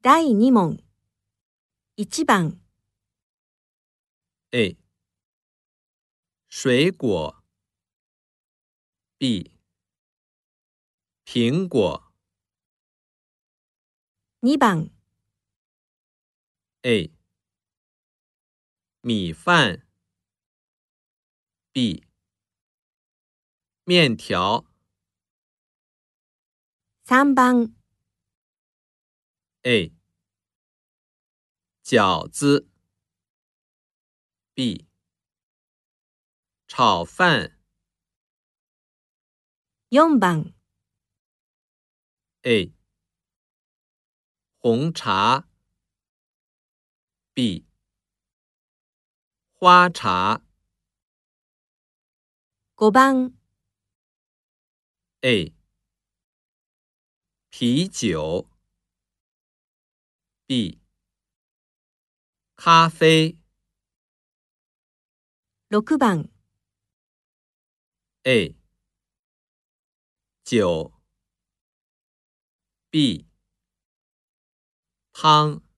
第2問。1番。 A. 水果 B. 苹果 2番。 A. 米饭 B. 面条 3番。 A. 饺子 B. 炒饭 4番。 A. 红茶 B. 花茶 5番。 A. 啤酒 B. 咖啡 6番。 A. 酒 B. 汤